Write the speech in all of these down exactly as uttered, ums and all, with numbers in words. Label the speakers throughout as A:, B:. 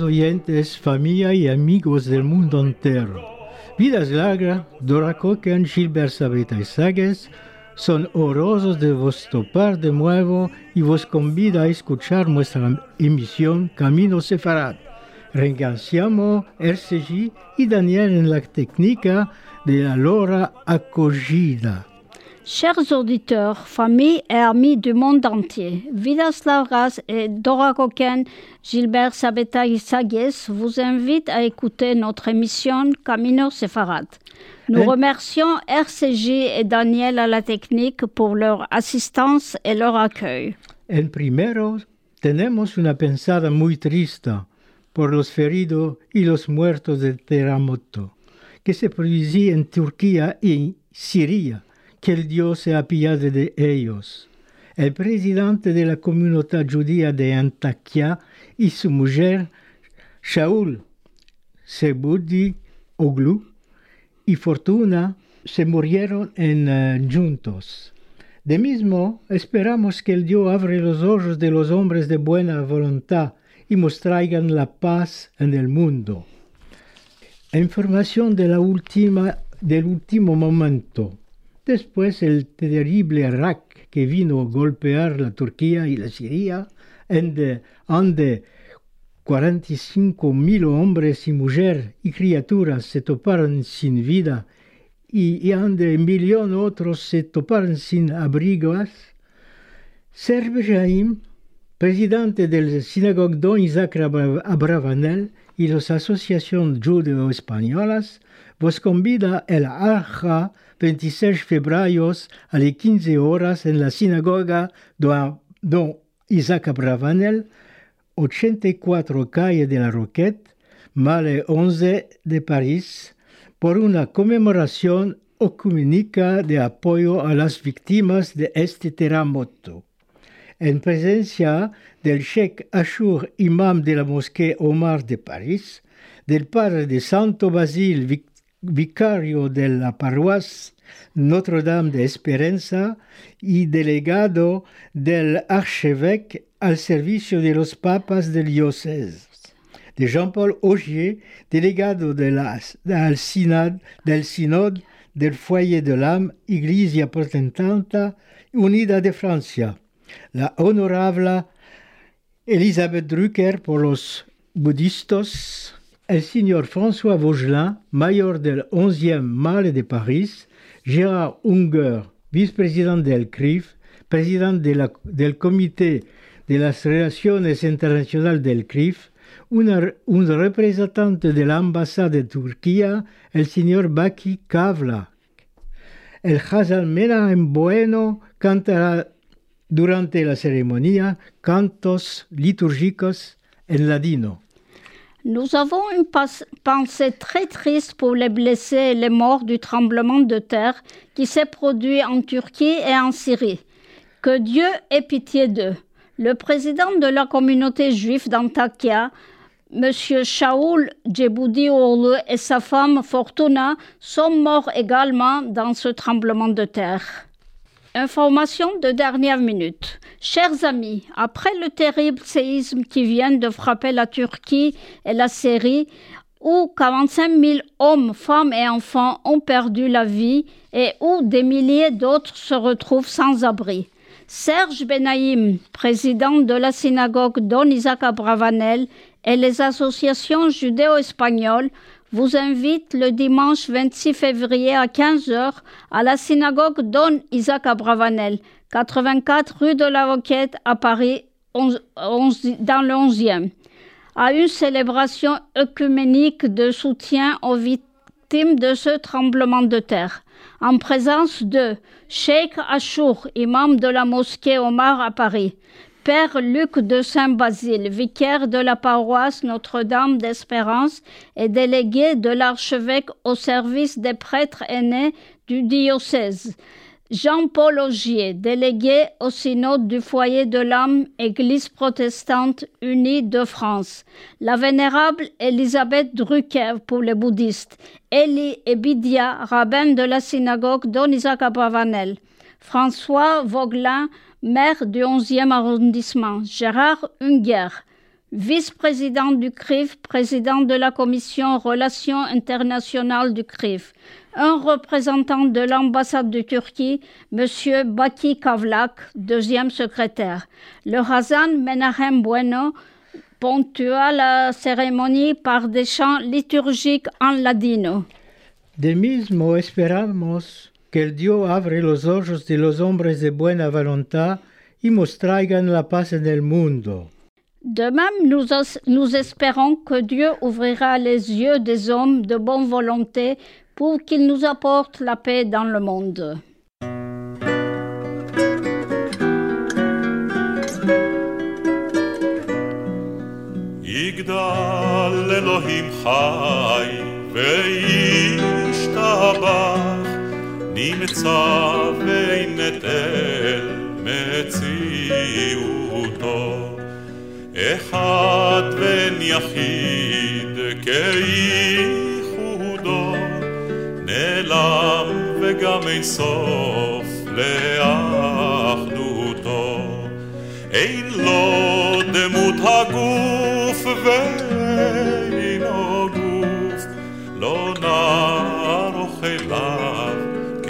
A: oyentes, familia y amigos del mundo entero. Vidas largas, Dora Cocan, Gilbert Sabeta y Sagues son honrosos de vos topar de nuevo y vos convida a escuchar nuestra emisión Camino Sefarad. Reganciamos R C G y Daniel en la técnica de la Lora acogida.
B: Chers auditeurs, familles et amis du monde entier, Vidas Largas et Dora Coquen, Gilbert Sabeta y Sagues vous invitent à écouter notre émission Camino Sefarad. Nous
A: Hein?
B: remercions R C J et Daniel à la technique pour leur assistance et leur accueil.
A: En primero, tenemos una pensada muy triste por los feridos y los muertos del terremoto que se produjo en Turquía y Siria. Que el Dios se apiade de ellos. El presidente de la comunidad judía de Antakya y su mujer, Shaul Sebudi Oglu y Fortuna, se murieron en, uh, juntos. De mismo, esperamos que el Dios abra los ojos de los hombres de buena voluntad y nos traigan la paz en el mundo. Información de la última, del último momento. Después el terrible Irak que vino a golpear la Turquía y la Siria, donde, donde cuarenta y cinco mil hombres y mujeres y criaturas se toparon sin vida y, y donde un millón otros se toparon sin abrigos. Serge Jaim, presidente de la sinagoga Don Isaac Abravanel y las asociaciones judeo-españolas, vos convida el Arja veintiséis de febrero a las quince horas en la sinagoga Don, Don Isaac Abravanel, ochenta y cuatro calle de la Roquette, Male once de París, por una conmemoración ecuménica de apoyo a las víctimas de este terremoto. En presencia del Sheikh Ashur, imam de la Mosquée Omar de París, del padre de Santo Basile, vic- vicario de la paroisse Notre-Dame de Esperanza y delegado del archevêque al servicio de los papas del diocèse, de Jean-Paul Augier, delegado de la, del, synod, del Synode del Foyer de l'Âme, Iglesia Protestante Unida de Francia, la honorable Elisabeth Drucker por los budistas, el señor François Vaugelin, mayor del onzième Male de París, Gérard Unger, vice-presidente del C R I F, presidente de la, del Comité de las Relaciones Internacionales del C R I F, una, un representante de la Embajada de Turquía, el señor Baki Kavla. El Hazan Menahem Bueno cantará durante la ceremonia cantos litúrgicos en ladino.
B: Nous avons une pas- pensée très triste pour les blessés et les morts du tremblement de terre qui s'est produit en Turquie et en Syrie. Que Dieu ait pitié d'eux. Le président de la communauté juive d'Antakya, M. Shaul Cebudioğlu et sa femme Fortuna sont morts également dans ce tremblement de terre. Information de dernière minute. Chers amis, après le terrible séisme qui vient de frapper la Turquie et la Syrie, où quarante-cinq mille hommes, femmes et enfants ont perdu la vie et où des milliers d'autres se retrouvent sans abri, Serge Benaïm, président de la synagogue Don Isaac Abravanel et les associations judéo-espagnoles vous invitent le dimanche vingt-six février à quinze heures à la synagogue Don Isaac Abravanel, quatre-vingt-quatre rue de la Roquette à Paris, onze, onze, dans le onzième, à une célébration œcuménique de soutien aux victimes de ce tremblement de terre, en présence de Cheikh Ashur, imam de la mosquée Omar à Paris, Père Luc de Saint-Basile, vicaire de la paroisse Notre-Dame d'Espérance et délégué de l'archevêque au service des prêtres aînés du diocèse, Jean-Paul Augier, délégué au synode du Foyer de l'Âme, Église protestante unie de France, la vénérable Elisabeth Drucker pour les bouddhistes, Elie Ebidia, rabbin de la synagogue Don Isaac Abravanel, François Vaugelin, maire du onzième arrondissement, Gérard Unger, vice-président du C R I F, président de la commission Relations internationales du C R I F, un représentant de l'ambassade de Turquie, M. Baki Kavlak, deuxième secrétaire. Le Hazan Menahem Bueno ponctua la cérémonie par des chants liturgiques en ladino.
A: De mismo esperamos que el Dios abre los ojos de los hombres de buena voluntad y nos traigan la paz en el mundo.
B: De même, nous, nous espérons que Dieu ouvrira les yeux des hommes de bonne volonté pour qu'il nous apporte la paix dans le monde.
C: יגדל אלוהים חי וישתבח נמצא ונטל מציאותו אחד בן יחיד כייחודו נעלם וגם אין סוף לאחדותו אין לו דמות הגוף ואינו גוף לא נערוך אליו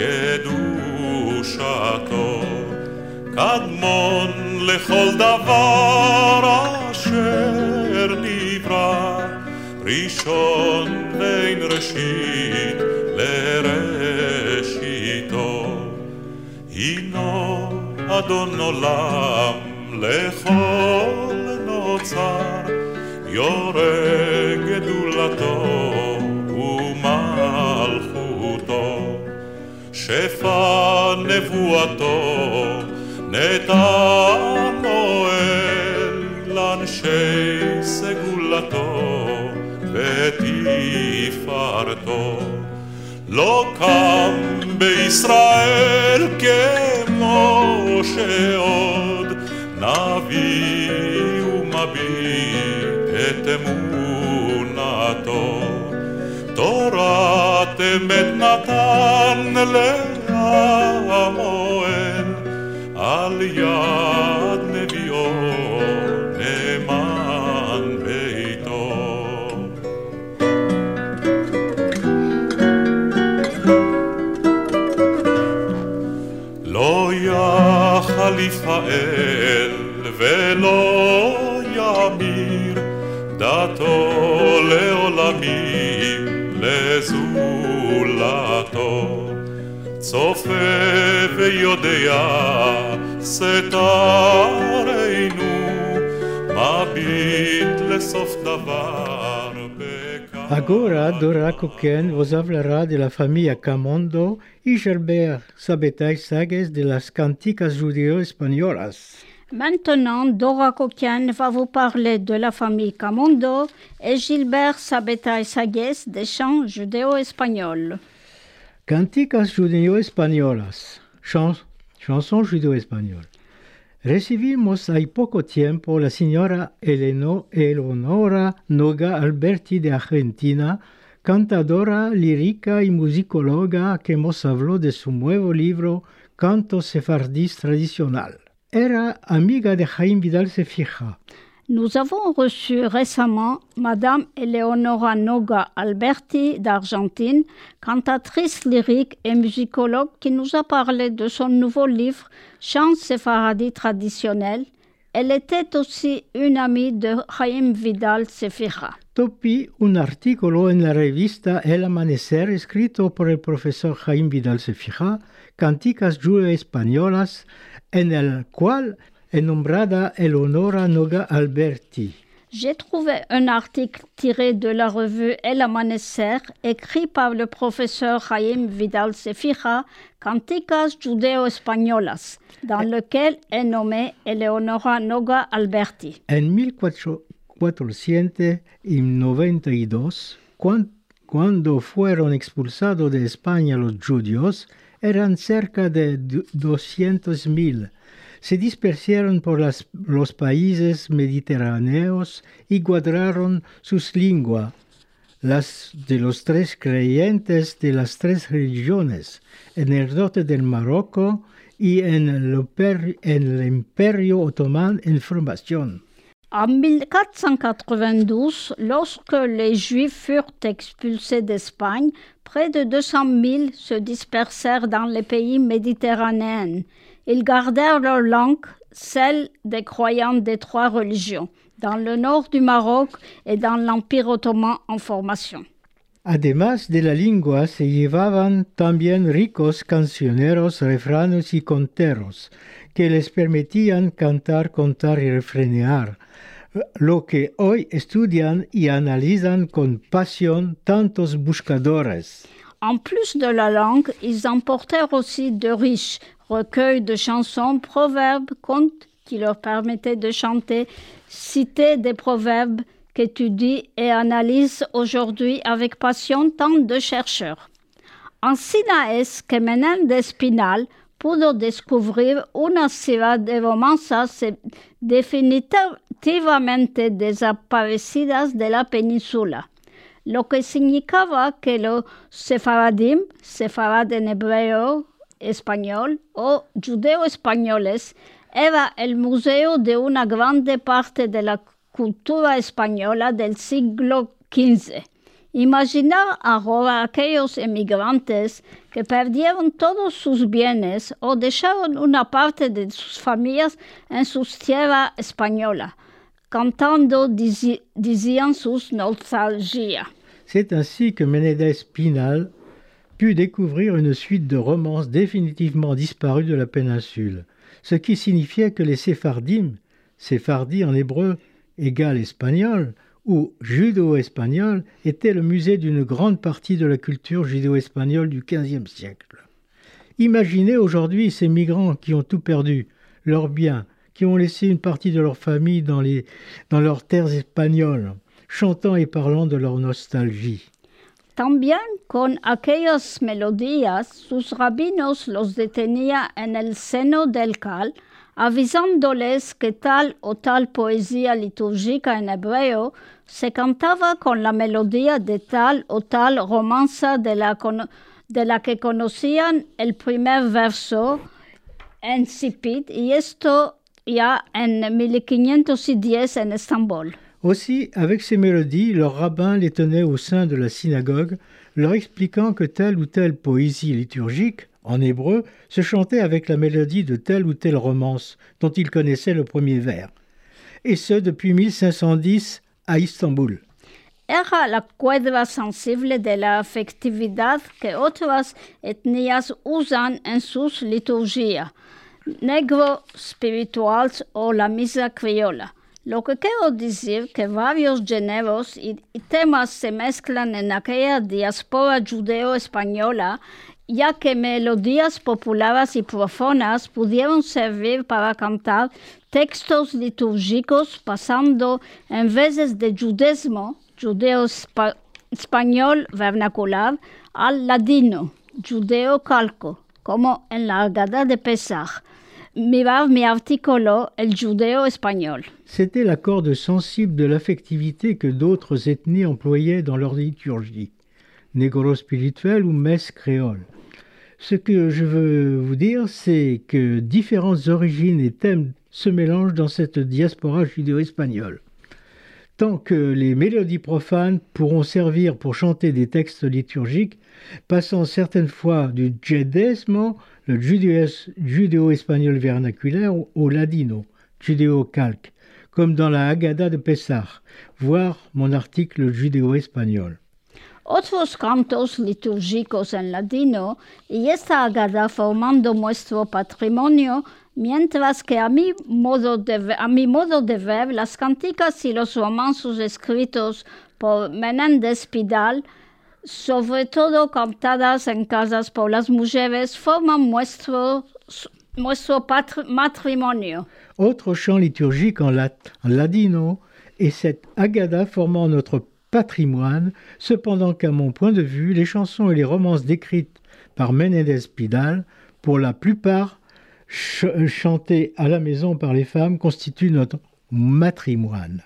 C: קדושתו קדמון לכל דבר אשר נברא ראשון בין ראשית לראשיתו הינו אדון עולם לכל נוצר יורה גדולתו ומלכותו שפע נבואתו נתן מועל לאנשי סגולתו ותפארתו לא קם בישראל כמו שעוד נביא ומביט את אמונתו תורת אמת נתן לעמואל על יד נביאו נאמן ביתו לא יחליף האל ולא ימיר דתו לעולמים לזולתו צופה ויודע סתרנו מביט לסוף דבר
A: Agora, Dora Coquen vos hablará de la familia Camondo y Gilbert Sabetay Sagues de las canticas judéo-españolas.
B: Maintenant, Dora Coquen va vous parler de la famille Camondo et Gilbert Sabetay Sagues des chants judéo-espagnols.
A: Canticas judéo-españolas, chans, chansons judéo-espagnoles. Recibimos hay poco tiempo la señora Eleno, Eleonora Noga Alberti de Argentina, cantadora lírica y musicóloga que nos habló de su nuevo libro Canto Sefardís Tradicional. Era amiga de Jaime Vidal Cefija.
B: Nous avons reçu récemment Madame Eleonora Noga Alberti d'Argentine, cantatrice lyrique et musicologue qui nous a parlé de son nouveau livre Chants séfaradis traditionnels. Elle était aussi une amie de Jaime Vidal Cefija.
A: Topi un artículo en la revista El Amanecer escrito por el profesor Jaime Vidal Cefija, Canticas Judeo-Españolas, en el cual est nombrada Eleonora Noga Alberti.
B: J'ai trouvé un article tiré de la revue El Amanecer, écrit par le professeur Jaime Vidal Cefija, Canticas Judeo-Españolas, dans lequel est nommée Eleonora Noga Alberti.
A: En mil cuatrocientos noventa y dos, cuando fueron expulsados de España los judíos, eran cerca de doscientos mil. Se dispersaron por las, los países mediterráneos y guardaron sus lenguas, las de los tres creyentes de las tres religiones, en el norte del Marruecos y en el, en el Imperio Otomán en formación.
B: En mille quatre cent quatre-vingt-douze, lorsque les Juifs furent expulsés d'Espagne, près de deux cent mille se dispersèrent dans les pays méditerranéens. Ils gardèrent leur langue, celle des croyants des trois religions, dans le nord du Maroc et dans l'Empire ottoman en formation.
A: Además de la lengua se llevaban también ricos cancioneros, refranes y conteros, que les permitían cantar, contar y refrenear, lo que hoy estudian y analizan con pasión tantos buscadores.
B: En plus de la langue, ils emportèrent aussi de riches recueils de chansons, proverbes, contes qui leur permettaient de chanter, citer des proverbes qu'étudient et analysent aujourd'hui avec passion tant de chercheurs. Encima es que Menéndez Pinal pudo descubrir una ciudad de romanzas definitivamente desaparecidas de la península, lo que significaba que los sefaradim, sefarad en hebreo español o judeo-españoles, era el museo de una grande parte de la cultura española del siglo quince. Imaginar ahora aquellos emigrantes que perdieron todos sus bienes o dejaron una parte de sus familias en sus tierras españolas, cantando dizi- decían sus nostalgias.
A: C'est ainsi que Menéndez Pinal put découvrir une suite de romances définitivement disparues de la péninsule, ce qui signifiait que les séphardim, séphardi en hébreu égale espagnol, ou judo-espagnol, était le musée d'une grande partie de la culture judéo-espagnole du quinzième siècle. Imaginez aujourd'hui ces migrants qui ont tout perdu, leurs biens, qui ont laissé une partie de leur famille dans, les, dans leurs terres espagnoles, chantant et parlant de leur nostalgie.
B: También con aquellas melodías, sus rabinos los detenía en el seno del cal, avisándoles que tal o tal poesía litúrgica en hebreo se cantaba con la melodía de tal o tal romanza de la, de la que conocían el primer verso en Sipit, y esto ya en mille quinientos diez en Estambul.
A: Aussi, avec ces mélodies, leurs rabbins les tenaient au sein de la synagogue, leur expliquant que telle ou telle poésie liturgique, en hébreu, se chantait avec la mélodie de telle ou telle romance dont ils connaissaient le premier vers. Et ce, depuis mille cinq cent dix à Istanbul.
B: Era la cuerda sensible de la afectividad que otras etnias usan en sus liturgias, negro spirituals o la misa criolla. Lo que quiero decir que varios géneros y, y temas se mezclan en aquella diáspora judeo-española, ya que melodías populares y profanas pudieron servir para cantar textos litúrgicos, pasando en veces de judesmo, judeo-español vernacular, al ladino, judeo-calco, como en la Haggadah de Pesach. Mirar mi artículo, el judeo espagnol.
A: C'était la corde sensible de l'affectivité que d'autres ethnies employaient dans leur liturgie, négro-spirituelle ou messe créole. Ce que je veux vous dire, c'est que différentes origines et thèmes se mélangent dans cette diaspora judéo-espagnole. Tant que les mélodies profanes pourront servir pour chanter des textes liturgiques, passant certaines fois du jedesmo, le judéo-espagnol vernaculaire, au ladino, judéo-calque, comme dans la Haggadah de Pessah, voir mon article judéo-espagnol.
B: Otros cantos litúrgicos en ladino y esta Haggadah formando nuestro patrimonio, mientras que a mi, modo de, a mi modo de ver, las canticas y los romanzos escritos por Menéndez Pinal, sobre todo cantadas en casas por las mujeres, forman nuestro, nuestro patri- matrimonio.
A: Autre chant liturgique en, lat, en ladino et cette Haggadah formant notre patrimoine, cependant qu'à mon point de vue, les chansons et les romances décrites par Menéndez Pinal, pour la plupart ch- chantées à la maison par les femmes, constituent notre matrimoine.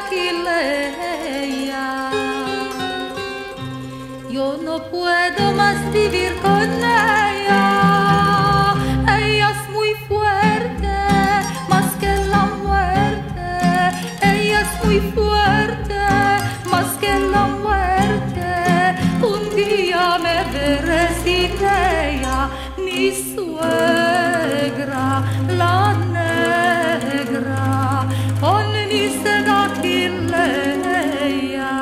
D: Galilea. Yo no puedo más vivir con ella. Ella es muy fuerte, más que la muerte. Ella es muy fuerte, más que la muerte. Un día me veré sin ella, mi suegra, la negra, con mi seda Galilea.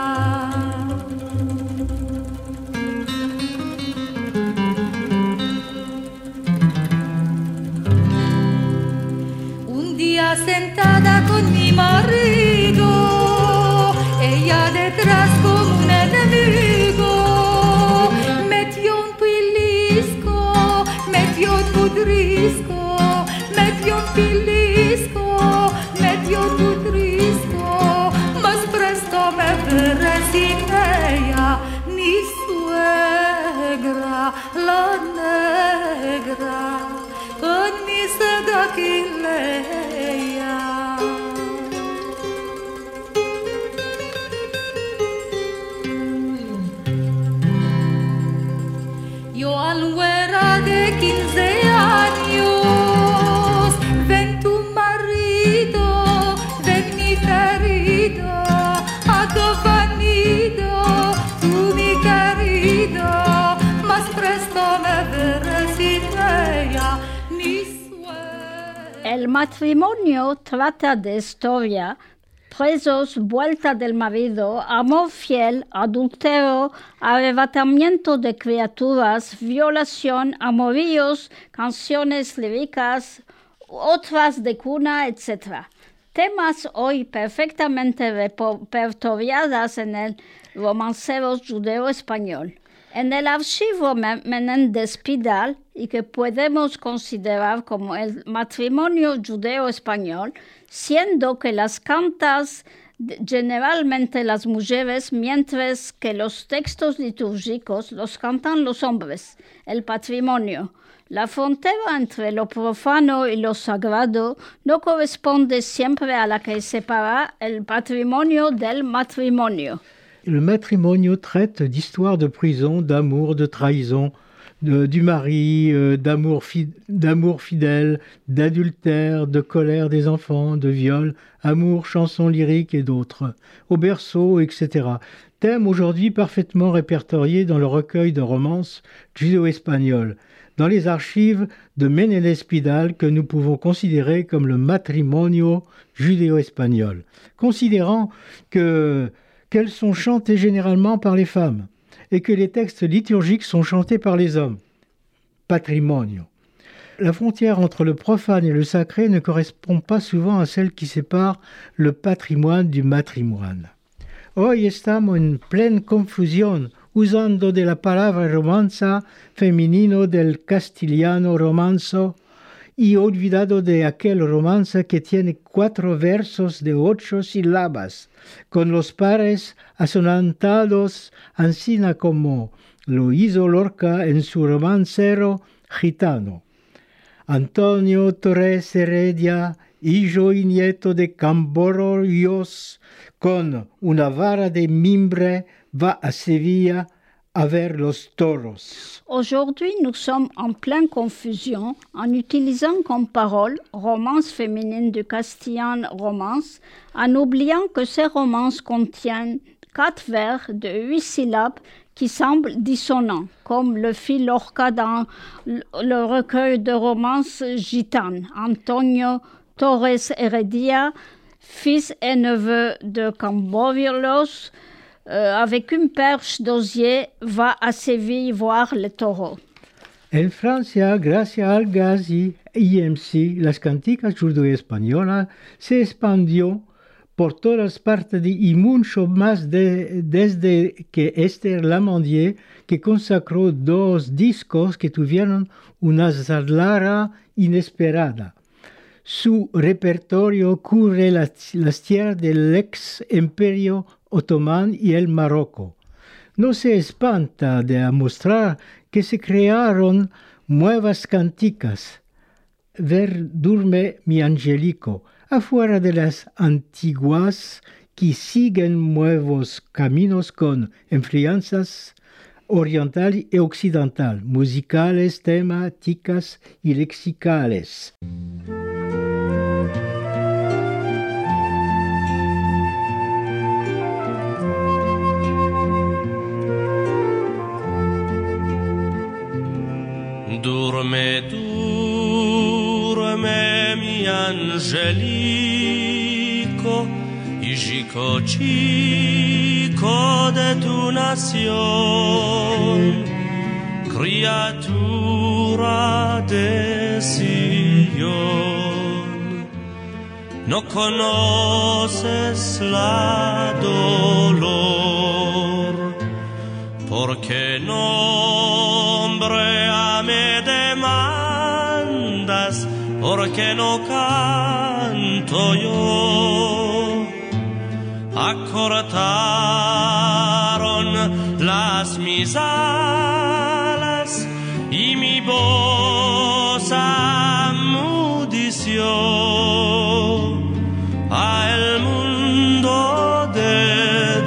D: Un día sentada con mi marido, ella detrás como un enemigo, metió un pilisco, metió un pudrisco, metió un pilisco, metió un pudrisco, más presto me veré sin ella, mi suegra, la negra, con mi seda Galilea. Yo al güera de quince años, ven tu marido, ven mi querido, a tu venido, tú mi querido, más presto me veré sin ella, mi suegra.
B: El matrimonio trata de historia, presos, vuelta del marido, amor fiel, adulterio, arrebatamiento de criaturas, violación, amoríos, canciones líricas, otras de cuna, etcétera. Temas hoy perfectamente repertoriadas en el romancero judeo-español. En el archivo Menéndez Pidal, y que podemos considerar como el matrimonio judeo-español, siendo que las cantan generalmente las mujeres, mientras que los textos litúrgicos los cantan los hombres, el patrimonio. La frontera entre lo profano y lo sagrado no corresponde siempre a la que separa el patrimonio del matrimonio.
A: Le matrimonio traite d'histoire de prison, d'amour, de trahison, de, du mari, euh, d'amour, fi, d'amour fidèle, d'adultère, de colère des enfants, de viol, amour, chansons lyriques et d'autres, au berceau, et cetera. Thème aujourd'hui parfaitement répertorié dans le recueil de romances judéo-espagnoles, dans les archives de Menéndez Pidal que nous pouvons considérer comme le matrimonio judéo-espagnol, considérant que qu'elles sont chantées généralement par les femmes et que les textes liturgiques sont chantés par les hommes. Patrimonio. La frontière entre le profane et le sacré ne correspond pas souvent à celle qui sépare le patrimoine du matrimoine. Hoy estamos en pleine confusión usando de la palabra romanza femenino del castellano romanzo y olvidado de aquel romanza que tiene cuatro versos de ocho sílabas, con los pares asonantados, ansina como lo hizo Lorca en su romancero gitano. Antonio Torres Heredia, hijo y nieto de Camborollos, con una vara de mimbre va a Sevilla à ver los toros.
B: Aujourd'hui, nous sommes en pleine confusion en utilisant comme parole romance féminine du castillan romance, en oubliant que ces romances contiennent quatre vers de huit syllabes qui semblent dissonants, comme le fit Lorca dans le recueil de romances gitanes. Antonio Torres Heredia, fils et neveu de Camborollos, Euh, avec une perche d'osier, va à Séville voir les taureaux.
A: En Francia, gracias al Gazi I M C, las canticas judeo-españolas se expandió por todas partes y mucho más de, desde que Esther Lamandier, que consacró dos discos que tuvieron una salida inesperada. Su repertorio cubre las, las tierras del ex imperio otomán y el Marocco. No se espanta de mostrar que se crearon nuevas canticas. Ver durme mi angelico, afuera de las antiguas que siguen nuevos caminos con influencias orientales y occidentales, musicales, temáticas y lexicales.
E: Durme, durme, mi angelico, hijico chico de tu nación, criatura de Sion. No conoces la dolor, porque nombre a me demandas, porque no canto yo. Acortaron las mis alas y mi voz amudició a el mundo de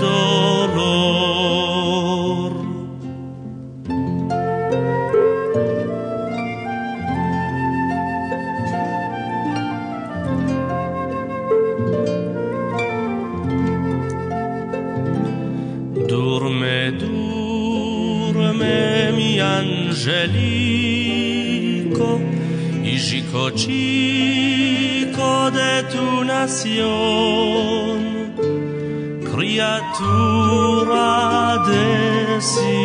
E: dolor. Durme, durme, mi angelico, hijico chico de tu nación, criatura de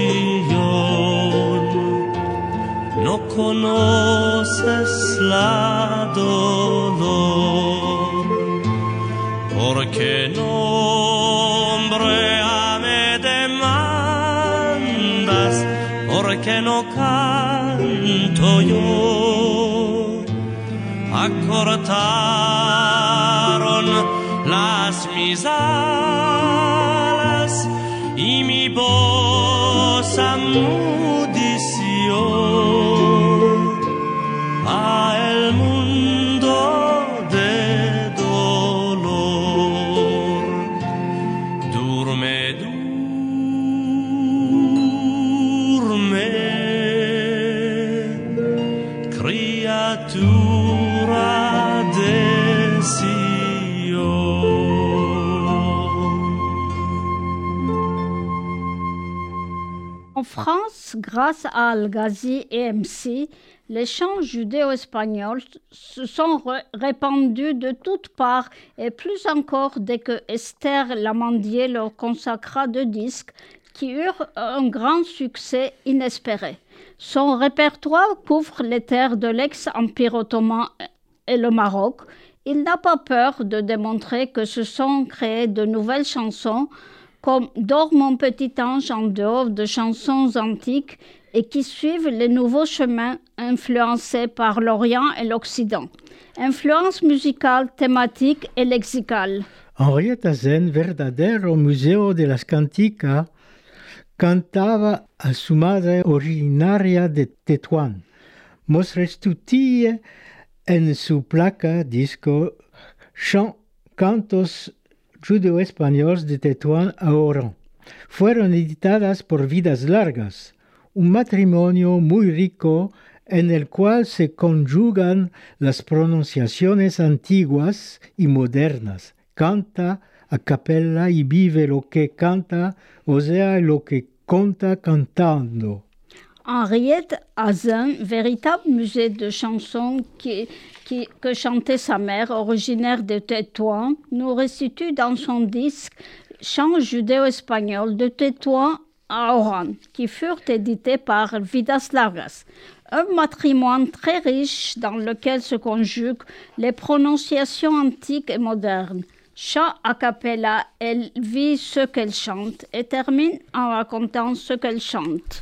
E: Sion. No conoces la dolor, porque nombre a me demandas, porque no canto yo. Acortaron las mis alas y mi voz amudició a el mundo de dolor. Durme, durme, criatura de Sion.
B: En France, grâce à Al-Ghazi et M C, les chants judéo-espagnols se sont re- répandus de toutes parts et plus encore dès que Esther Lamandier leur consacra deux disques qui eurent un grand succès inespéré. Son répertoire couvre les terres de l'ex-Empire ottoman et le Maroc. Il n'a pas peur de démontrer que se sont créées de nouvelles chansons comme « Dors mon petit ange » en dehors de chansons antiques et qui suivent les nouveaux chemins influencés par l'Orient et l'Occident. Influence musicale, thématique et lexicale.
A: Henrietta Zen, verdadero museo de las canticas, cantaba a su madre originaria de Tetuán. Mostrestutille en su placa disco Chant, Cantos Judeo-Españoles de Tetuán a Orán. Fueron editadas por Vidas Largas, un matrimonio muy rico en el cual se conjugan las pronunciaciones antiguas y modernas. Canta a capella y vive lo que canta, o sea, lo que conta cantando.
B: Henriette Hazen, véritable musée de chansons qui, qui, que chantait sa mère, originaire de Tétouan, nous restitue dans son disque Chants judéo-espagnols de Tétouan à Oran, qui furent édités par Vidas Largas. Un matrimoine très riche dans lequel se conjuguent les prononciations antiques et modernes. Chant a cappella, elle vit ce qu'elle chante et termine en racontant ce qu'elle chante.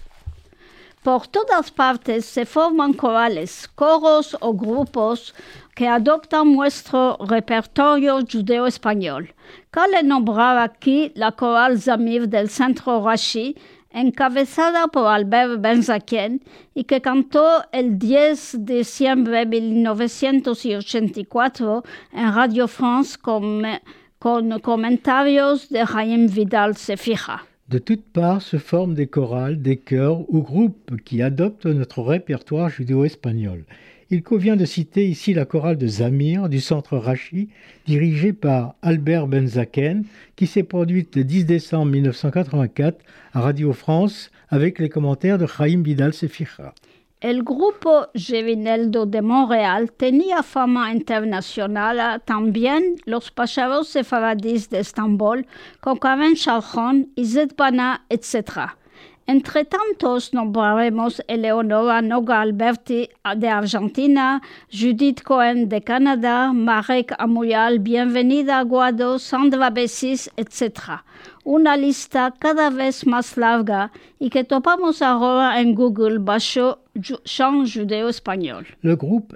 B: Por todas partes se forman corales, coros o grupos que adoptan nuestro repertorio judeo-español. Cabe nombrar aquí la coral Zamir del Centro Rachi, encabezada por Albert Benzaquén y que cantó el diez de diciembre de mil novecientos ochenta y cuatro en Radio France con, con comentarios de Chaim Vidal Sefira.
A: De toutes parts se forment des chorales, des chœurs ou groupes qui adoptent notre répertoire judéo-espagnol. Il convient de citer ici la chorale de Zamir du centre Rachi, dirigée par Albert Benzaken, qui s'est produite le dix décembre mille neuf cent quatre-vingt-quatre à Radio France avec les commentaires de Chaim Vidal Sefira.
B: El grupo Gevineldo de Montréal tenía fama internacional también los pacharos sefaradís de Estambul, con Karen Shalchon, Izet Bana, etcétera. Entre tantos nombraremos Eleonora Noga Alberti de Argentina, Judith Cohen de Canadá, Marek Amuyal, Bienvenida Aguado, Sandra Bessis, etcétera. Una lista cada vez más larga y que topamos ahora en Google bajo chant judéo-espagnol.
A: Le groupe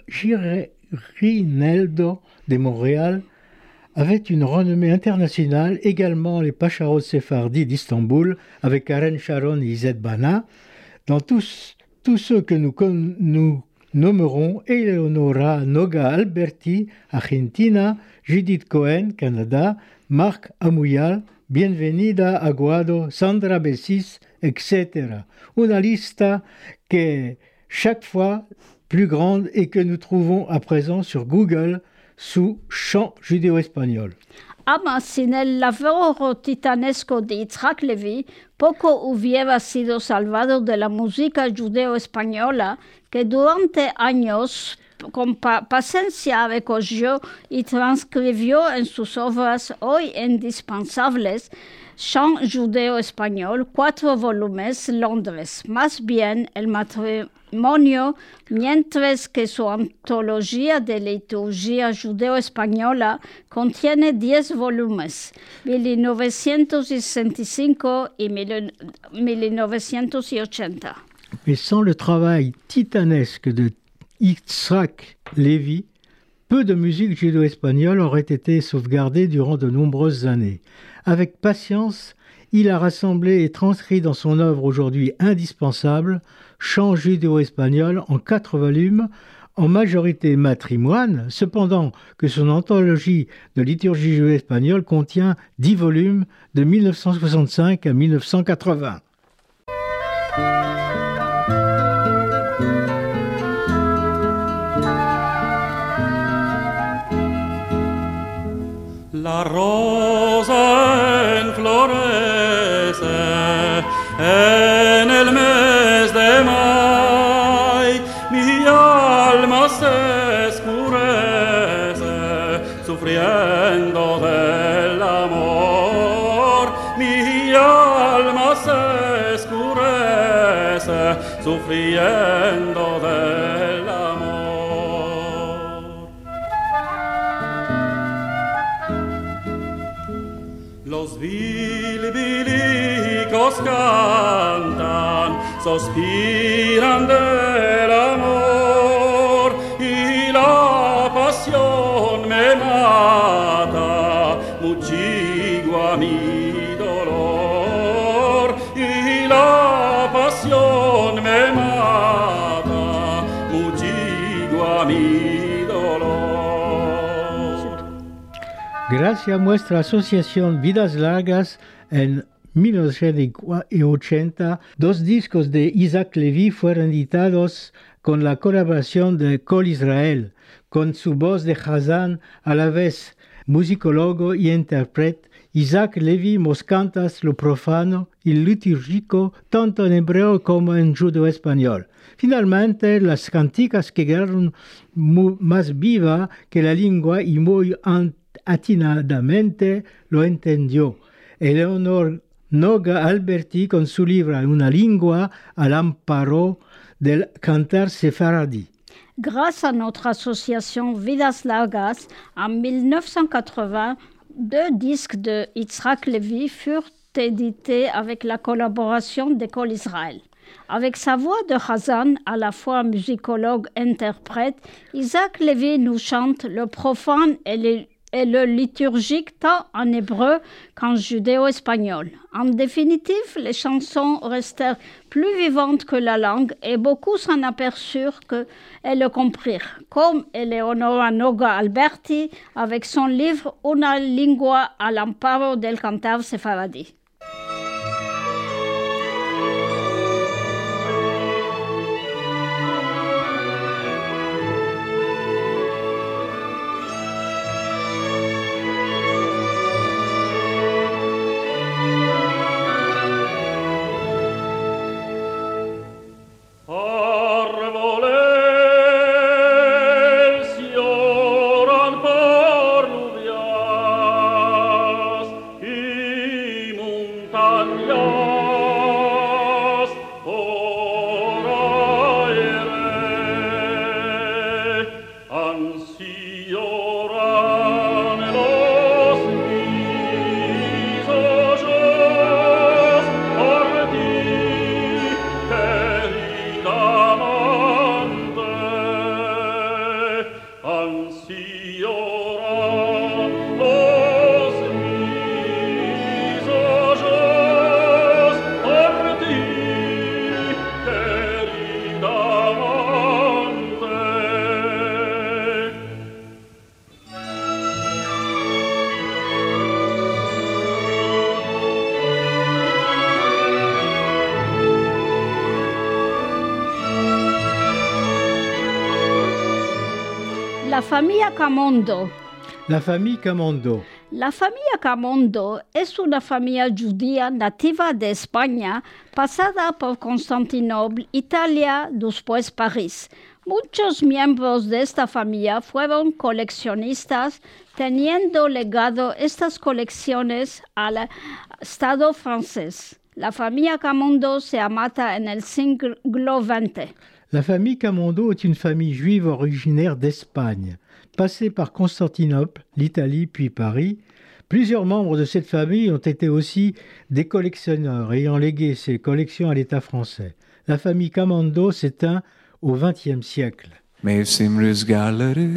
A: Girineldo de Montréal avait une renommée internationale, également les Pacharos séfardis d'Istanbul, avec Karen Sharon et Izet Bana. Dans tous, tous ceux que nous, nous nommerons, Eleonora Noga Alberti, Argentina, Judith Cohen, Canada, Marc Amuyal, Bienvenida Aguado, Sandra Bessis, et cetera. Una lista que chaque fois plus grande et que nous trouvons à présent sur Google sous chant judéo-espagnol.
B: Ama sin el laboro titanesco de Yitzhak Levi, poco hubiera sido salvado de la música judeo-española que durante años con pa- paciencia recogió y transcribió en sus obras hoy indispensables Chant judeo-espagnol, cuatro volúmenes, Londres. Más bien el matrimonio, mientras que su antología de liturgia judeo-española contiene diez volúmenes, mil novecientos sesenta y cinco y mil novecientos ochenta.
A: Mais sans le travail titanesque de Yitzhak Levi, peu de musique judéo-espagnole aurait été sauvegardée durant de nombreuses années. Avec patience, il a rassemblé et transcrit dans son œuvre aujourd'hui indispensable Chant judéo-espagnol en quatre volumes, en majorité matrimoine, cependant que son anthologie de liturgie judéo-espagnole contient dix volumes de mille neuf cent soixante-cinq à mille neuf cent quatre-vingts.
E: La rosa enflorece en el mes de mayo, mi alma se escurece sufriendo del amor, mi alma se escurece sufriendo del amor. Los bilibilicos cantan, suspiran del amor y la pasión me mata, muchigua mi dolor y la pasión me mata, muchigua mi dolor.
A: Gracias a nuestra asociación Vidas Largas, en mil novecientos ochenta, dos discos de Isaac Levi fueron editados con la colaboración de Kol Israel, con su voz de Hazan a la vez musicólogo y intérprete. Isaac Levi nos canta lo profano y litúrgico tanto en hebreo como en judeo-español. Finalmente, las canticas quedaron más vivas que la lengua y muy atinadamente lo entendió. Eleonor Noga Alberti con su libro Una lengua al amparo del cantar sefaradí.
B: Grâce à notre association Vidas Largas, en mille neuf cent quatre-vingts, deux disques de Yitzhak Levi furent édités avec la collaboration d'École Israël. Avec sa voix de Hazan, à la fois musicologue-interprète, Isaac Levi nous chante le profane et le, et le liturgique tant en hébreu qu'en judéo-espagnol. En définitive, les chansons restèrent plus vivantes que la langue et beaucoup s'en aperçurent et le comprirent, comme Eleonora Noga Alberti avec son livre Una lingua all'amparo del cantar sefaradi. La familia Camondo.
A: La famille Camondo.
B: La familia Camondo es una familia judía nativa de España, pasada por Constantinopla, Italia, después París. Muchos miembros de esta familia fueron coleccionistas, teniendo legado estas colecciones al Estado francés. La familia Camondo se amata en el siglo veinte.
A: La famille Camondo est une famille juive originaire d'Espagne. Passée par Constantinople, l'Italie puis Paris, plusieurs membres de cette famille ont été aussi des collectionneurs ayant légué ces collections à l'État français. La famille Camondo s'éteint au vingtième siècle.
F: Mevsim rüzgarları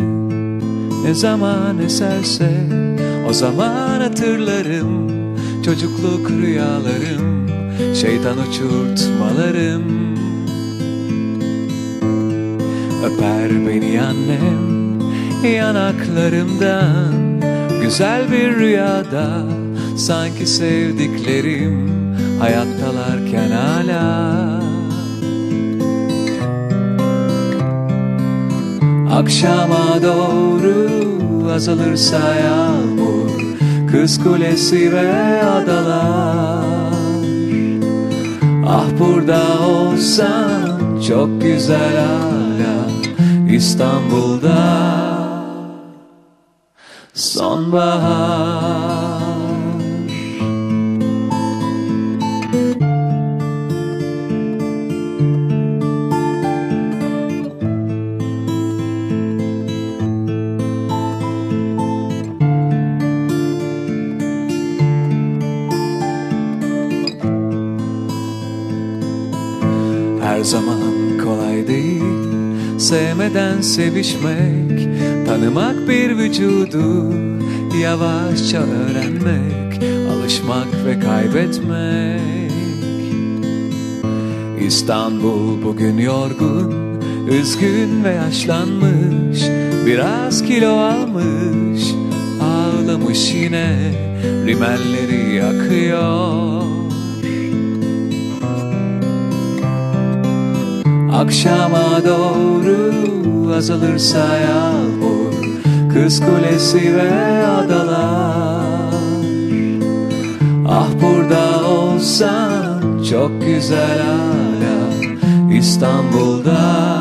F: ne zaman eserse o zaman hatırlarım çocukluk rüyalarım şeytan uçurtmalarım. Öper beni annem yanaklarımdan güzel bir rüyada sanki sevdiklerim hayattalarken hala. Akşama doğru azalırsa yağmur Kız Kulesi ve adalar. Ah burada olsan çok güzel hala İstanbul'da sonbahar. Her zaman kolay değil sevmeden sevişmek, tanımak bir vücudu, yavaşça öğrenmek, alışmak ve kaybetmek. İstanbul bugün yorgun, üzgün ve yaşlanmış, biraz kilo almış, ağlamış yine, rimelleri yakıyor. Akşama doğru azalırsa yağmur Kız Kulesi ve adalar. Ah burada olsan çok güzel hala İstanbul'da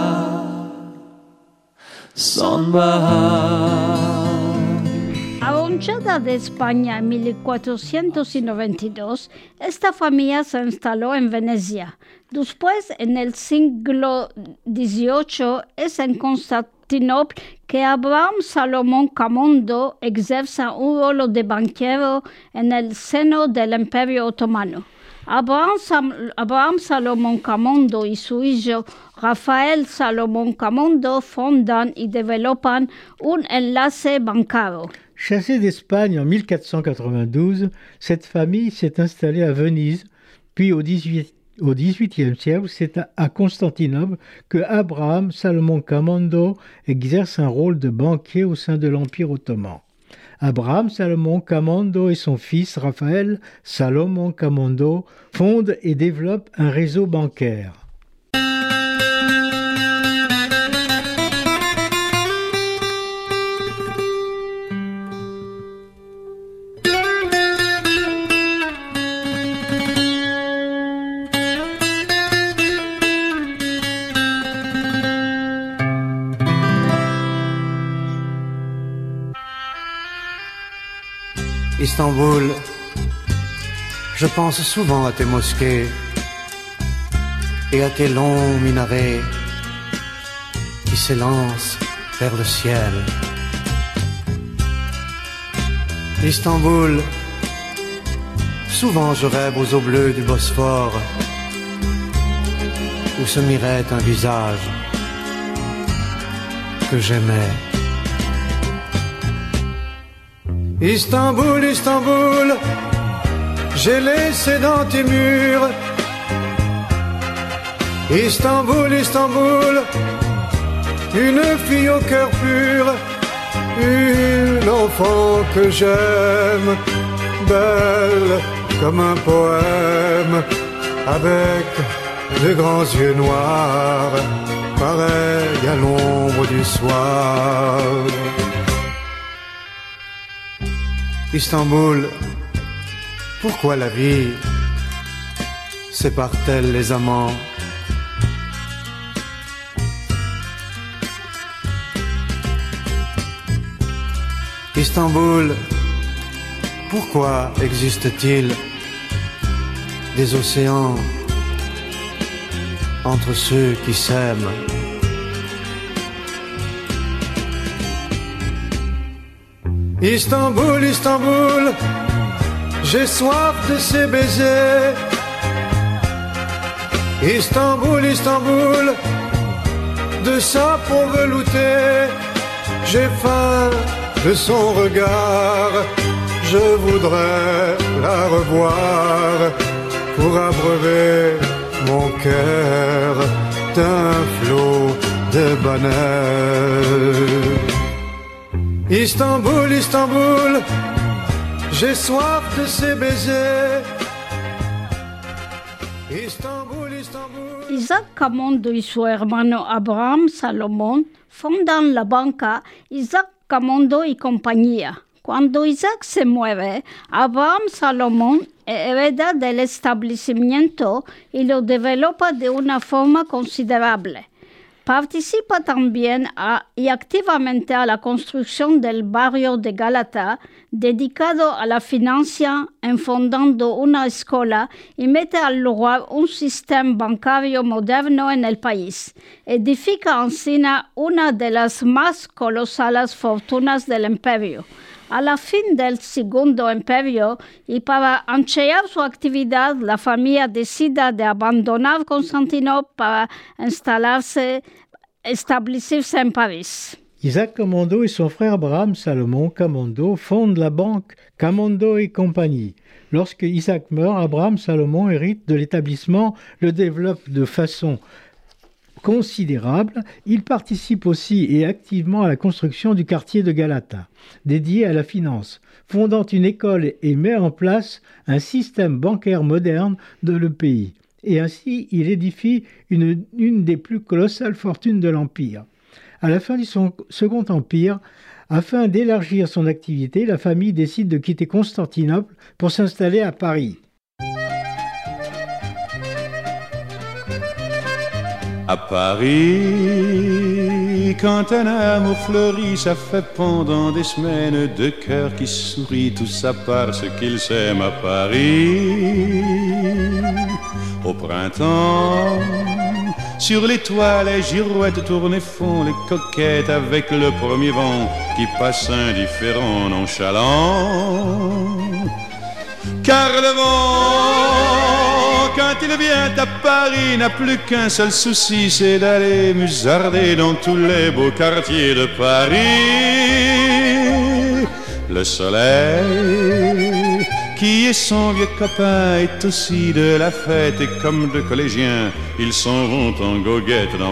F: sonbahar.
B: Arronchada de España en mil cuatrocientos noventa y dos, esta familia se instaló en Venecia. Después, en el siglo dieciocho, es en Constantinopla que Abraham Salomón Camondo ejerce un rol de banquero en el seno del Imperio Otomano. Abraham, Sam- Abraham Salomon Camondo y su hijo Rafael Salomon Camondo fondan y développent un enlace bancario.
A: Chassée d'Espagne en mille quatre cent quatre-vingt-douze, cette famille s'est installée à Venise, puis au dix-huit Au dix-huitième siècle, c'est à Constantinople que Abraham Salomon Camondo exerce un rôle de banquier au sein de l'Empire ottoman. Abraham Salomon Camondo et son fils Raphaël Salomon Camondo fondent et développent un réseau bancaire.
G: Istanbul, je pense souvent à tes mosquées et à tes longs minarets qui s'élancent vers le ciel. Istanbul, souvent je rêve aux eaux bleues du Bosphore où se mirait un visage que j'aimais. Istanbul, Istanbul, j'ai laissé dans tes murs. Istanbul, Istanbul, une fille au cœur pur, une enfant que j'aime, belle comme un poème, avec de grands yeux noirs, pareil à l'ombre du soir. Istanbul, pourquoi la vie sépare-t-elle les amants? Istanbul, pourquoi existe-t-il des océans entre ceux qui s'aiment? Istanbul, Istanbul, j'ai soif de ces baisers. Istanbul, Istanbul, de sa peau veloutée. J'ai faim de son regard, je voudrais la revoir pour abreuver mon cœur d'un flot de bonheur. Istanbul, Istanbul, j'ai soif de ces baisers. Istanbul, Istanbul.
B: Isaac Camondo y su hermano Abraham Salomón fondan la banca Isaac Camondo y compañía. Cuando Isaac se muere, Abraham Salomón hereda del establecimiento y lo developa de una forma considerable. Participa también a, y activamente a la construcción del barrio de Galata, dedicado a la financia, enfondando una escuela y mete al lugar un sistema bancario moderno en el país. Edifica encima una de las más colosales fortunas del imperio. A la fin del Segundo Imperio y para ampliar su actividad, la familia decide de abandonar Constantinopla para instalarse, establecerse en París.
A: Isaac Camondo et son frère Abraham Salomon Camondo fondent la banque Camondo et compagnie. Lorsque Isaac meurt, Abraham Salomon hérite de l'établissement, le développe de façon considérable. Il participe aussi et activement à la construction du quartier de Galata, dédié à la finance, fondant une école et met en place un système bancaire moderne dans le pays. Et ainsi, il édifie une, une des plus colossales fortunes de l'Empire. À la fin du son, Second Empire, afin d'élargir son activité, la famille décide de quitter Constantinople pour s'installer à Paris.
H: À Paris, quand un amour fleurit, ça fait pendant des semaines deux cœurs qui sourient, tout ça parce qu'ils s'aiment à Paris. Au printemps, sur les toits, les girouettes tournent et font les coquettes avec le premier vent qui passe indifférent, nonchalant. Car le vent quand il vient à Paris, n'a plus qu'un seul souci, c'est d'aller musarder dans tous les beaux quartiers de Paris. Le soleil, qui est son vieux copain, est aussi de la fête, et comme deux collégiens, ils s'en vont en goguette dans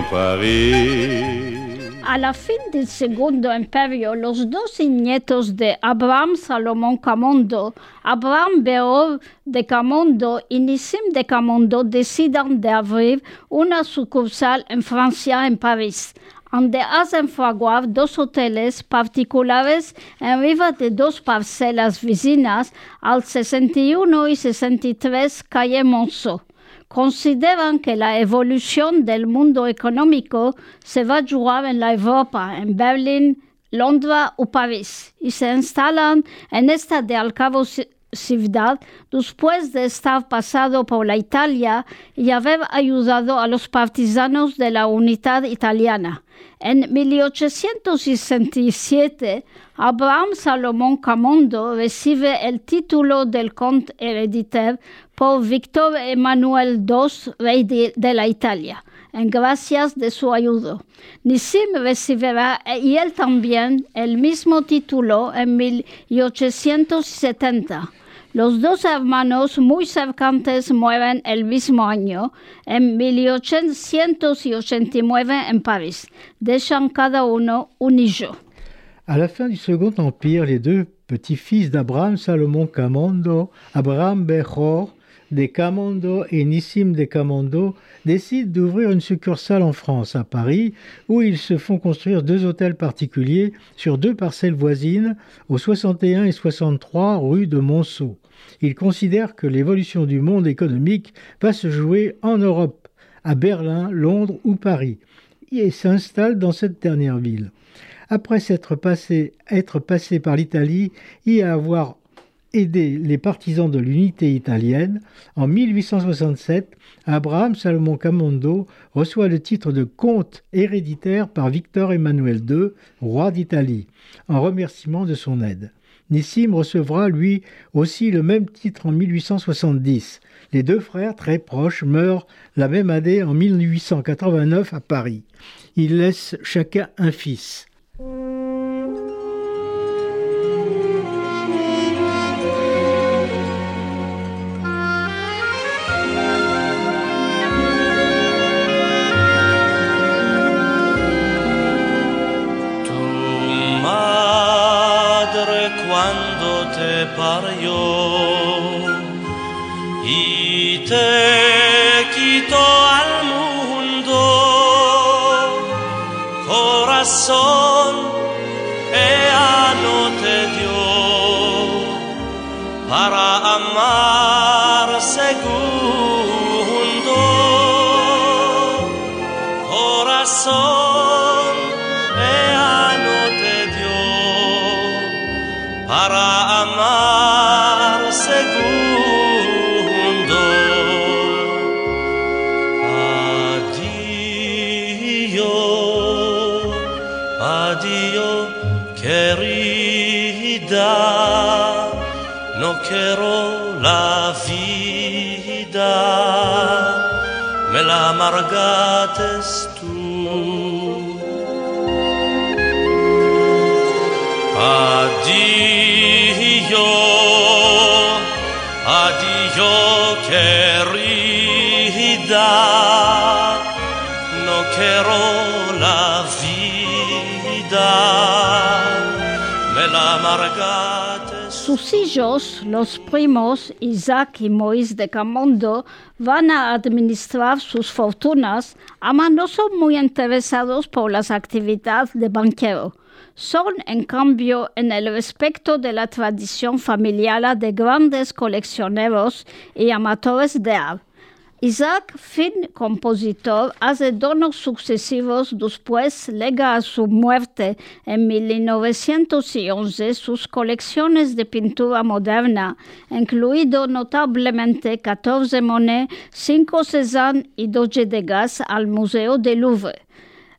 H: Paris.
B: A la fin del Segundo Imperio, los dos nietos de Abraham Salomón Camondo, Abraham Beor de Camondo y Nissim de Camondo, deciden de abrir una sucursal en Francia, en París, donde hacen fraguar dos hoteles particulares en riva de dos parcelas vecinas al sesenta y uno y sesenta y tres calle Monceau. Consideran que la evolución del mundo económico se va a jugar en la Europa, en Berlín, Londres o París, y se instalan en esta de al cabo ciudad después de estar pasado por la Italia y haber ayudado a los partisanos de la unidad italiana. En mil ochocientos sesenta y siete, Abraham Salomón Camondo recibe el título del conde hereditario por Víctor Emanuel segundo, rey de, de la Italia, en gracias de su ayuda. Nissim recibirá y él también el mismo título en mil ochocientos setenta. Los dos hermanos muy cercanos mueren el mismo año, en mil ochocientos ochenta y nueve en París. Dejan cada uno un hijo.
A: À la fin du Second Empire, les deux petits-fils d'Abraham Salomón Camondo, Abraham Bechor de Camondo et Nissim de Camondo, décident d'ouvrir une succursale en France, à Paris, où ils se font construire deux hôtels particuliers sur deux parcelles voisines, au soixante et un et soixante-trois rue de Monceau. Ils considèrent que l'évolution du monde économique va se jouer en Europe, à Berlin, Londres ou Paris, et s'installent dans cette dernière ville. Après s'être passé, être passé par l'Italie et avoir aidé les partisans de l'unité italienne, en mille huit cent soixante-sept, Abraham Salomón Camondo reçoit le titre de comte héréditaire par Victor Emmanuel deux, roi d'Italie, en remerciement de son aide. Nissim recevra lui aussi le même titre en mille huit cent soixante-dix. Les deux frères, très proches, meurent la même année en mille huit cent quatre-vingt-neuf à Paris. Ils laissent chacun un fils.
I: Quando te parió y te quitó al mundo, corazón ella no te dio para amar segundo, corazón ella no te dio para amar segundo. Addio, addio, querida, no quiero la vida, me la amargates tú. Addio, addio querida, no quiero la vida, me la amargaste.
B: Sus hijos, los primos Isaac y Moïse de Camondo, van a administrar sus fortunas, aunque no son muy interesados por las actividades de banquero. Son, en cambio, en el respecto de la tradición familiar de grandes coleccioneros y amateurs de arte. Isaac, fin compositor, hace donos sucesivos, después lega a su muerte en mil novecientos once sus colecciones de pintura moderna, incluido notablemente catorce Monet, cinco Cézanne y dos Degas al Museo del Louvre.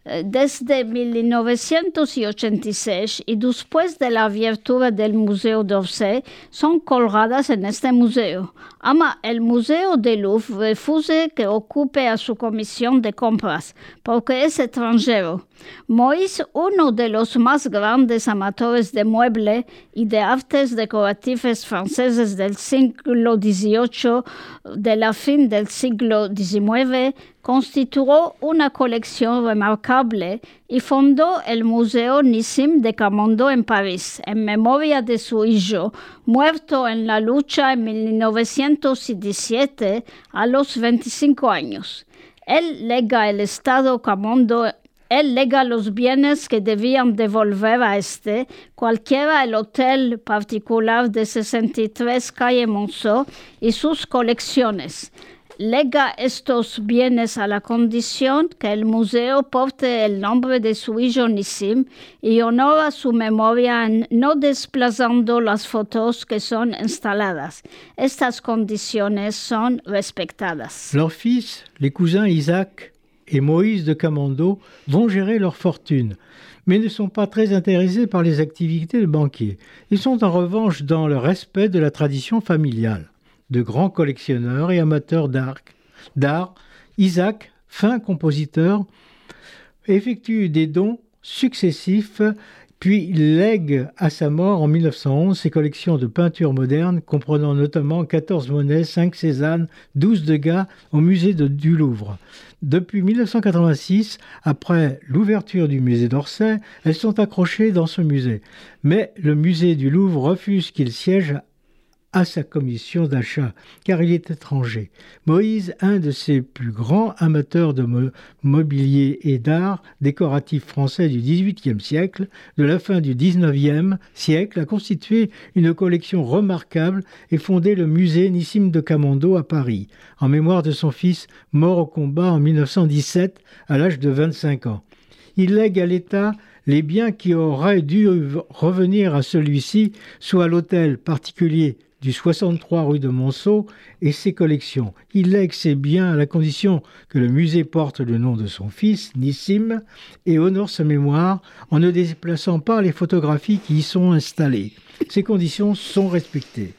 B: Desde mil novecientos ochenta y seis y después de la apertura del Museo d'Orsay son colgadas en este museo. Ama el Museo del Louvre refusa que ocupe a su comisión de compras porque es extranjero. Moïse, uno de los más grandes amateurs de muebles y de artes decorativas franceses del siglo dieciocho, de la fin del siglo diecinueve, constituyó una colección remarcable y fundó el Museo Nissim de Camondo en París, en memoria de su hijo, muerto en la lucha en mil novecientos diecisiete a los veinticinco años. Él lega el Estado Camondo Él lega los bienes que debían devolver a este, cualquiera el hotel particular de sesenta y tres calle Monceau y sus colecciones. Lega estos bienes a la condición que el museo porte el nombre de su hijo Nissim y honora su memoria no desplazando las fotos que son instaladas. Estas condiciones son respetadas.
A: Leurs fils, les cousins Isaac et Moïse de Camondo vont gérer leur fortune, mais ne sont pas très intéressés par les activités de banquier. Ils sont en revanche dans le respect de la tradition familiale. De grands collectionneurs et amateurs d'art, d'art, Isaac, fin compositeur, effectue des dons successifs, puis lègue à sa mort en mille neuf cent onze ses collections de peintures modernes, comprenant notamment quatorze Monet, cinq Cézanne, douze Degas au musée de, du Louvre. Depuis mille neuf cent quatre-vingt-six, après l'ouverture du musée d'Orsay, elles sont accrochées dans ce musée. Mais le musée du Louvre refuse qu'il siège à sa commission d'achat, car il est étranger. Moïse, un de ses plus grands amateurs de mo- mobilier et d'art décoratif français du dix-huitième siècle, de la fin du dix-neuvième siècle, a constitué une collection remarquable et fondé le musée Nissim de Camondo à Paris, en mémoire de son fils mort au combat en mille neuf cent dix-sept à l'âge de vingt-cinq ans. Il lègue à l'État les biens qui auraient dû revenir à celui-ci, soit l'hôtel particulier du soixante-trois rue de Monceau et ses collections. Il lègue ses biens à la condition que le musée porte le nom de son fils, Nissim, et honore sa mémoire en ne déplaçant pas les photographies qui y sont installées. Ces conditions sont respectées.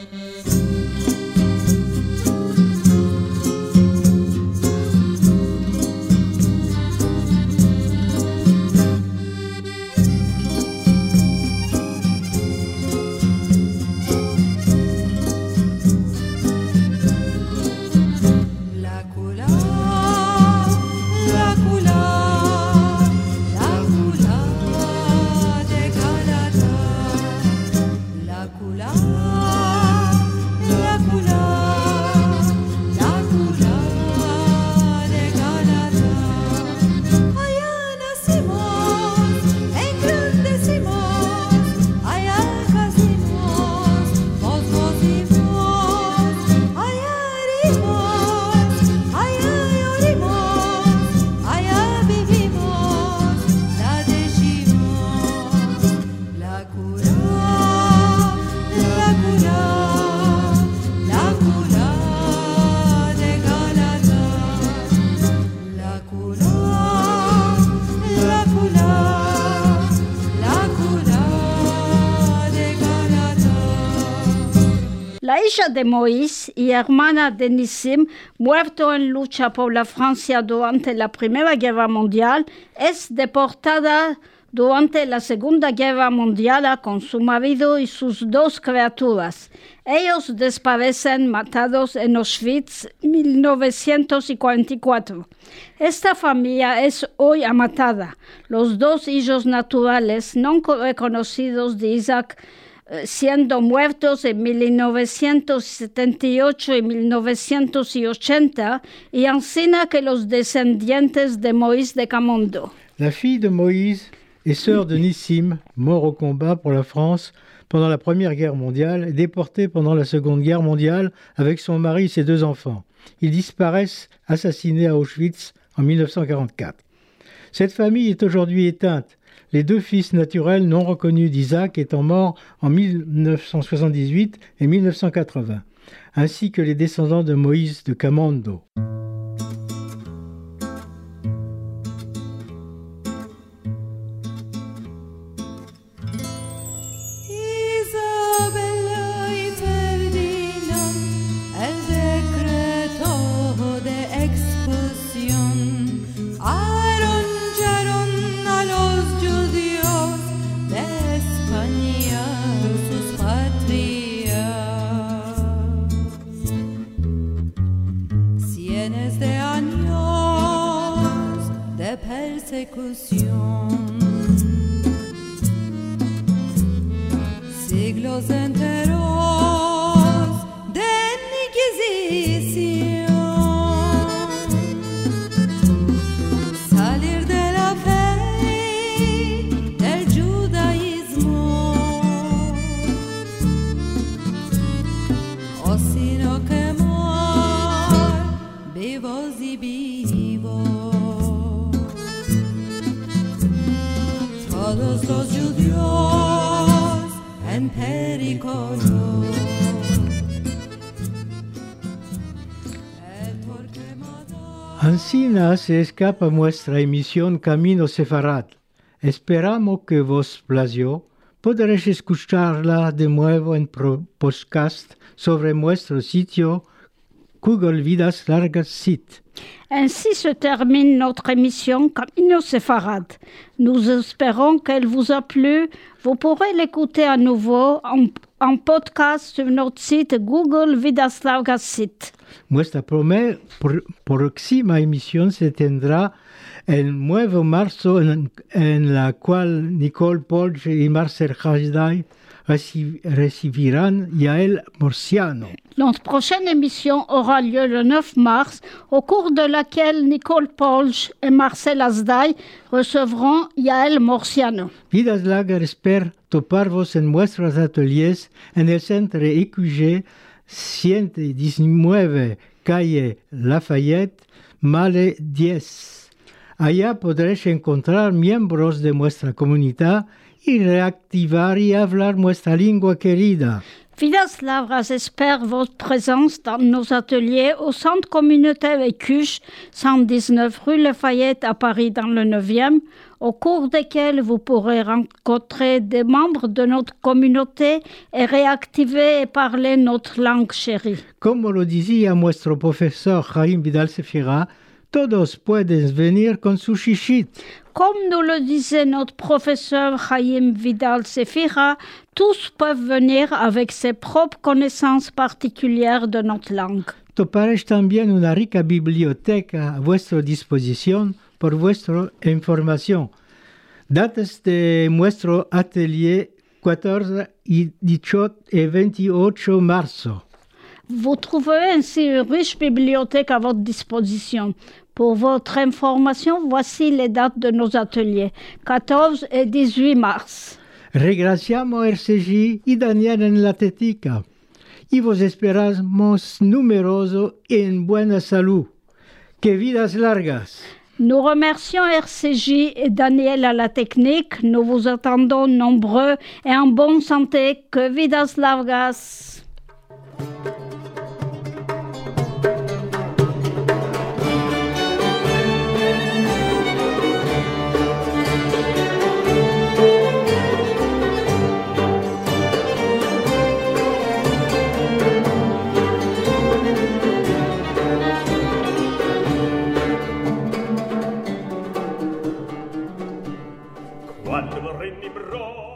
B: La hija de Moïse y hermana de Nissim, muerto en lucha por la Francia durante la Primera Guerra Mundial, es deportada durante la Segunda Guerra Mundial con su marido y sus dos criaturas. Ellos desaparecen matados en Auschwitz en mil novecientos cuarenta y cuatro. Esta familia es hoy amatada. Los dos hijos naturales no reconocidos de Isaac siendo muertos en mil novecientos setenta y ocho y mil novecientos ochenta, y ainsi que los descendientes de Moïse de Camondo.
A: La fille de Moïse est sœur de Nissim, mort au combat pour la France pendant la Première Guerre mondiale et déportée pendant la Seconde Guerre mondiale avec son mari et ses deux enfants. Ils disparaissent assassinés à Auschwitz en mille neuf cent quarante-quatre. Cette famille est aujourd'hui éteinte, les deux fils naturels non reconnus d'Isaac étant morts en mille neuf cent soixante-dix-huit et mille neuf cent quatre-vingts, ainsi que les descendants de Moïse de Camondo.
D: persecución. Siglos enteros de inquisición. Salir de la fe del judaísmo, o sino quemar vivos y vivos. Todos los judíos en peligro.
A: Ancina se escapa nuestra emisión Camino Sefarad. Esperamos que vos plació. Podréis escucharla de nuevo en podcast sobre nuestro sitio Google Vidas Largas Site.
B: Ainsi se termine notre émission Camino Sefarad. Nous espérons qu'elle vous a plu. Vous pourrez l'écouter à nouveau en, en podcast sur notre site Google Vidas Largas Site.
A: Nuestra prome- por- próxima emisión se tendrá el nueve de marzo, en, en la cual Nicole Polge y Marcel Hajday reci- recibirán Yael Morciano.
B: Notre prochaine émission aura lieu le neuf mars, au cours de laquelle Nicole Polge et Marcel Hasday recevront Yael Morciano.
A: Vidas Largas espera toparvos en nuestros ateliers en el Centro E Q G ciento diecinueve, calle Lafayette, Male diez. Allá podréis encontrar miembros de nuestra comunidad y reactivar y hablar nuestra lengua querida.
B: Vidas Largas espère votre présence dans nos ateliers au centre communautaire Écuche, cent dix-neuf rue Lafayette à Paris dans le neuvième, au cours desquels vous pourrez rencontrer des membres de notre communauté et réactiver et parler notre langue chérie.
A: Como lo decía nuestro profesor Jaime Vidal Sefira, todos pueden venir con su chichit.
B: Comme nous le disait notre professeur Chaim Vidal Sefira, tous peuvent venir avec ses propres connaissances particulières de notre langue.
A: Toparéis también una rica biblioteca a vuestra disposición por vuestra información. Datas de nuestro atelier catorce, dieciocho et vingt-huit marzo.
B: Vous trouverez ainsi une riche bibliothèque à votre disposition. Pour votre information, voici les dates de nos ateliers, quatorze et dix-huit mars.
A: Regraciamos R C G y Daniel en la tética. Y vos esperamos numeroso y en buena salud. Que vidas largas.
B: Nous remercions R C J et Daniel à la technique. Nous vous attendons nombreux et en bonne santé. Que vidas largas.
J: Quando vorrei mi bro